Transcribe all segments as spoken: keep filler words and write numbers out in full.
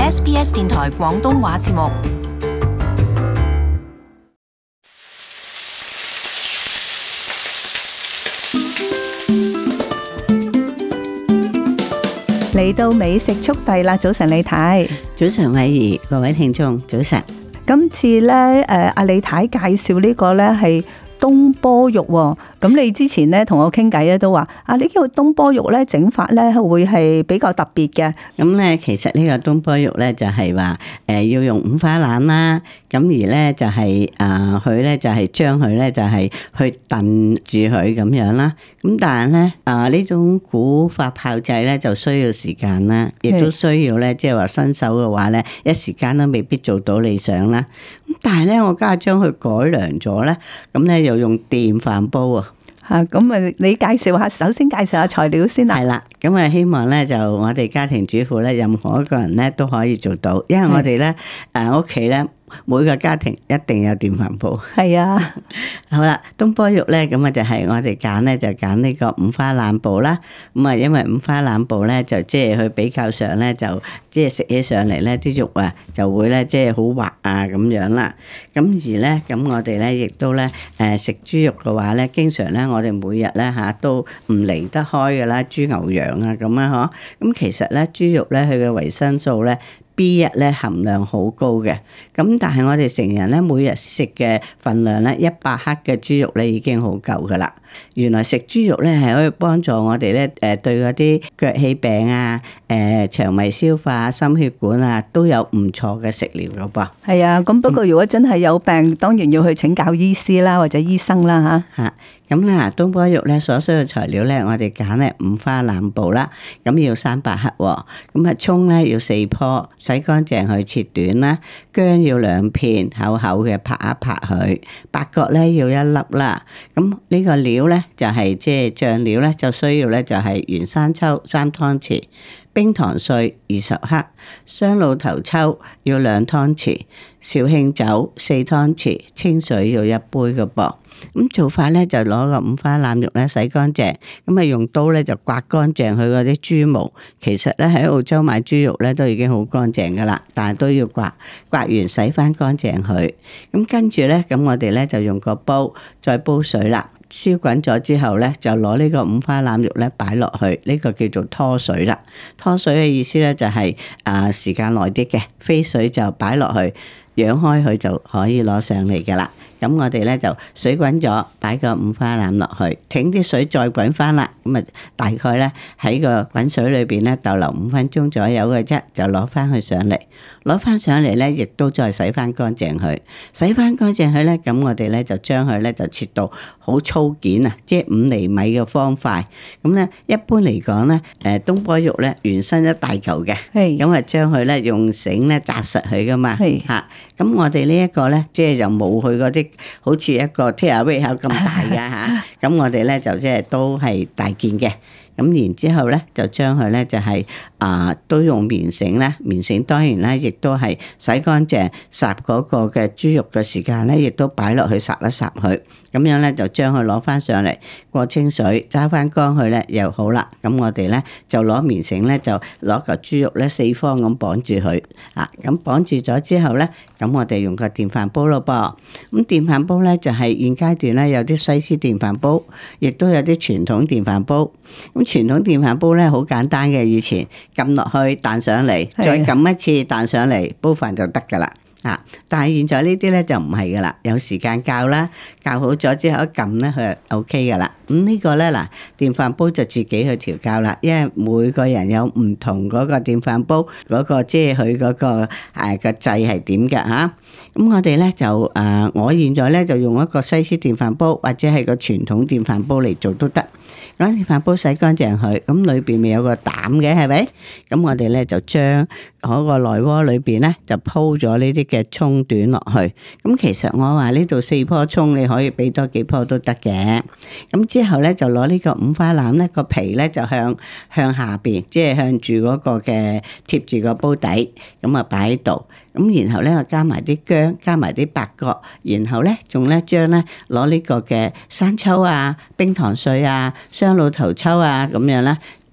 S B S 電台廣東話節目。 嚟到美食速遞啦！早晨李太， 早晨偉儀，各位聽眾早晨。 今次咧，誒阿李太介紹呢個咧係東坡肉喎。咁你之前咧同我傾偈咧都話，啊呢個東坡肉咧整法咧會係比較特別嘅。 咁咧其實呢個東坡肉咧就係話誒要用五花腩啦，咁而咧就係啊佢咧就係將佢咧就係去燉住佢咁樣啦。咁但係咧啊呢種古法炮製咧就需要時間啦，亦都需要咧即係話新手嘅話咧一時間都未必做到理想啦。咁但係咧我家下將佢改良咗咧，咁咧又用電飯煲啊。 嚇，咁啊，你介紹下，首先介紹下材料先啦。 係啦，咁啊希望咧就我哋家庭主婦咧，任何一個人咧都可以做到，因為我哋咧誒屋企咧每個家庭一定有電飯煲。係啊， 好啦，東坡肉咧咁啊就係我哋揀咧就揀呢個五花腩部啦。咁啊因為五花腩部咧就即係佢比較上咧就即係食起上嚟咧啲肉啊就會咧即係好滑啊咁樣啦。咁而咧咁我哋咧亦都咧誒食豬肉嘅話咧，經常咧我哋每日咧嚇都唔離得開㗎啦，豬牛羊啊咁啊嗬。咁其實咧豬肉咧佢嘅維生素咧B 一咧含量好高嘅，咁但係我哋成人咧每日食嘅份量咧一百克嘅豬肉咧已經好夠噶啦。原來食豬肉咧係可以幫助我哋咧誒對嗰啲腳氣病啊、誒腸胃消化、心血管啊都有唔錯嘅食療噶噃。 係啊，咁不過如果真係有病，當然要去請教醫師啦，或者醫生啦嚇。 嚇，咁咧嗱，東坡肉咧所需要材料咧，我哋揀咧五花腩部啦，咁要三百克喎。咁啊，葱咧要四棵，洗乾淨去切短啦。薑要兩片，厚厚嘅拍一拍佢。八角咧要一粒啦。咁呢個料咧就係即係醬料咧，就需要咧就係原生抽三湯匙。冰糖碎二十克，雙露頭抽要兩湯匙，紹興酒四湯匙，清水要一杯嘅噃。咁做法咧就攞個五花腩肉咧洗乾淨，咁啊用刀咧就刮乾淨佢嗰啲豬毛。其實咧喺澳洲買豬肉咧都已經好乾淨噶啦，但係都要刮，刮完洗翻乾淨佢。咁跟住咧，咁我哋咧就用個煲再煲水啦。燒滾咗之後咧，就攞呢個五花腩肉咧擺落去，呢個叫做拖水啦。拖水嘅意思咧就係啊時間耐啲嘅，飛水就擺落去，揚開佢就可以攞上嚟噶啦。咁我哋咧就水滾咗，擺個五花腩落去，停啲水再滾翻啦。咁啊，大概咧喺個滾水裏邊咧逗留五分鐘左右嘅啫，就攞翻佢上嚟。攞翻上嚟咧，亦都再洗翻乾淨佢。洗翻乾淨佢咧，咁我哋咧就將佢咧就切到好粗件啊，即係五厘米嘅方塊。咁咧一般嚟講咧，誒東坡肉咧原身一大嚿嘅，咁啊將佢咧用繩咧紮實佢噶嘛，嚇。咁我哋呢一個咧，即係就冇佢嗰啲好似一個 takeaway 口咁大噶嚇。咁我哋咧就即係都係大件嘅。咁然之後咧，就將佢咧就係、是、啊、呃，都用棉繩咧，棉繩當然咧，亦都係洗乾淨，烚嗰個嘅豬肉嘅時間咧，亦都擺落去烚一烚佢，咁樣咧就將佢攞翻上嚟過清水，揸翻乾佢咧又好啦。咁我哋咧就攞棉繩咧，就攞嚿豬肉咧四方咁綁住佢，啊，咁綁住咗之後咧，咁我哋用個電飯煲咯噃。咁電飯煲咧就係、是、現階段咧有啲西施電飯煲，亦都有啲傳統電飯煲。咁傳統電飯煲咧好簡單嘅，以前撳落去彈上嚟，再撳一次彈上嚟，煲飯就得噶啦。啊！但係現在呢啲咧就唔係噶啦，有時間較啦，較好咗之後一撳咧佢就 O K 噶啦。咁、嗯這個、呢個咧嗱，電飯煲就自己去調校啦，因為每個人有唔同嗰個電飯煲嗰、那個即係佢嗰個誒、啊、個掣係點嘅嚇。咁、啊嗯、我哋咧就誒、呃，我現在咧就用一個西施電飯煲或者係個傳統電飯煲嚟做都得。咁電飯煲洗乾淨佢，咁裏邊咪有個膽嘅係咪？咁我哋咧就將嗰個內鍋裏邊咧就鋪咗呢啲嘅葱段落去。咁其實我話呢度四棵葱，你可以俾多幾棵都得嘅。咁之後咧就攞呢個五花腩咧個皮咧就向向下邊，即係向住嗰個嘅貼住個煲底，咁啊擺喺度。咁然後咧，我加埋啲薑，加埋啲八角，然後咧仲咧將咧攞呢個嘅生抽啊、冰糖碎啊、雙露頭抽啊咁樣啦。誒、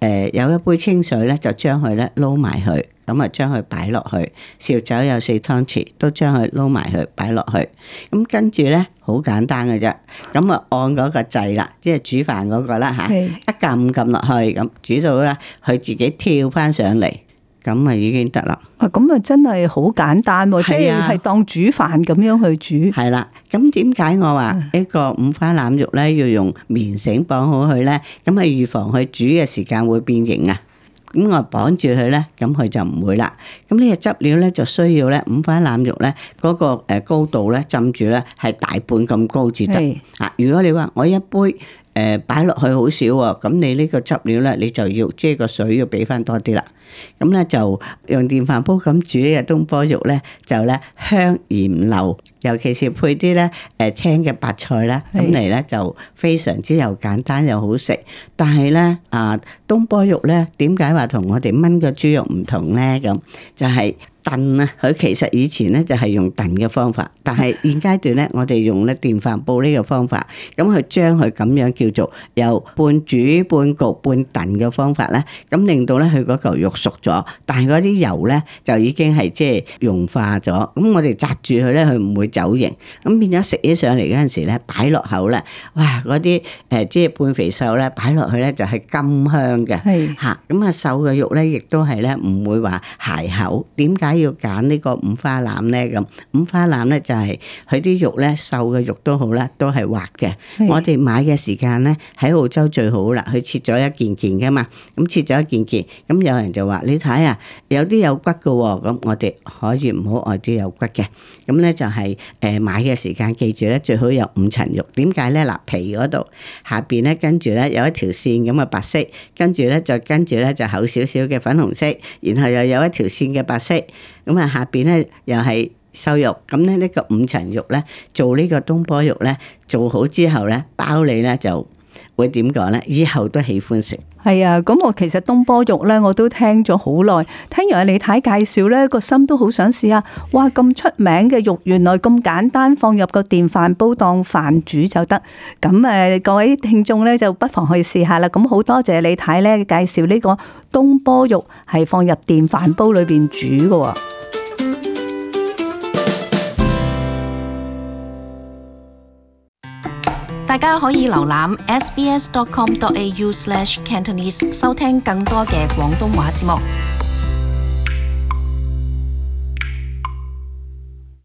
誒有一杯清水咧，就將佢咧撈埋去，咁啊將佢擺落去。紹酒有四湯匙，都將佢撈埋去擺落去。咁跟住咧好簡單嘅啫，咁啊按嗰個掣啦，即係煮飯嗰個啦嚇，一撳撳落去，咁煮到咧佢自己跳翻上嚟。咁啊已經得啦。 啊，咁啊真係好簡單喎，即係係當煮飯咁樣去煮。 係啦，咁點解我話呢個五花腩肉咧要用棉繩綁好佢咧？咁係預防佢煮嘅時間會變形啊。咁我綁住佢咧，咁佢就唔會啦。咁呢個汁料咧就需要咧五花腩肉咧嗰個誒高度咧浸住咧係大半咁高至得。啊，如果你話我一杯誒擺落去好少喎，咁你呢個汁料咧你就要即係個水要俾翻多啲啦。咁咧就用電飯煲咁煮呢個東坡肉咧，就咧香而唔漏，尤其是配啲咧誒青嘅白菜啦，咁嚟咧就非常之又簡單又好食。但係咧啊，東坡肉咧點解話同我哋炆個豬肉唔同咧？咁就係燉啊，佢其實以前咧就係用燉嘅方法，但係現階段咧我哋用咧電飯煲呢個方法，咁佢將佢咁樣叫做由半煮半焗半燉嘅方法咧，咁令到咧佢嗰嚿肉熟咗，但係嗰啲油咧就已經係即係融化咗，咁我哋紮住佢咧，佢唔會走形，咁變咗食起上嚟嗰陣時咧，擺落口咧，哇！嗰啲誒即係半肥瘦咧，擺落去咧就係甘香嘅，嚇咁啊瘦嘅肉咧，亦都係咧唔會話鞋口。點解要揀呢個五花腩咧？咁五花腩咧就係佢啲肉咧瘦嘅肉都好啦，都係滑嘅。我哋買嘅時間咧喺澳洲最好啦，佢切咗一件件噶嘛，咁切咗一件件，咁有人就話你睇啊，有啲有骨嘅喎，咁我哋可以唔好愛啲有骨嘅，咁咧就係誒買嘅時間記住咧，最好有五層肉。點解咧？嗱，皮嗰度下邊咧跟住咧有一條線咁嘅白色，跟住咧就跟住咧就厚少少嘅粉紅色，然後又有一條線嘅白色，咁啊下邊咧又係瘦肉，咁咧呢個五層肉咧做呢個東坡肉咧做好之後咧，包你咧就會點講咧？以後都喜歡食。 係啊，咁我其實東坡肉咧，我都聽咗好耐，聽完阿李太介紹咧，個心都好想試下。哇，咁出名嘅肉，原來咁簡單，放入個電飯煲當飯煮就得。咁誒，各位聽眾咧就不妨去試下啦。咁好多謝李太咧介紹呢個東坡肉係放入電飯煲裏邊煮嘅。 大家可以瀏覽 s b s dot com dot a u slash cantonese 收聽更多嘅廣東話節目。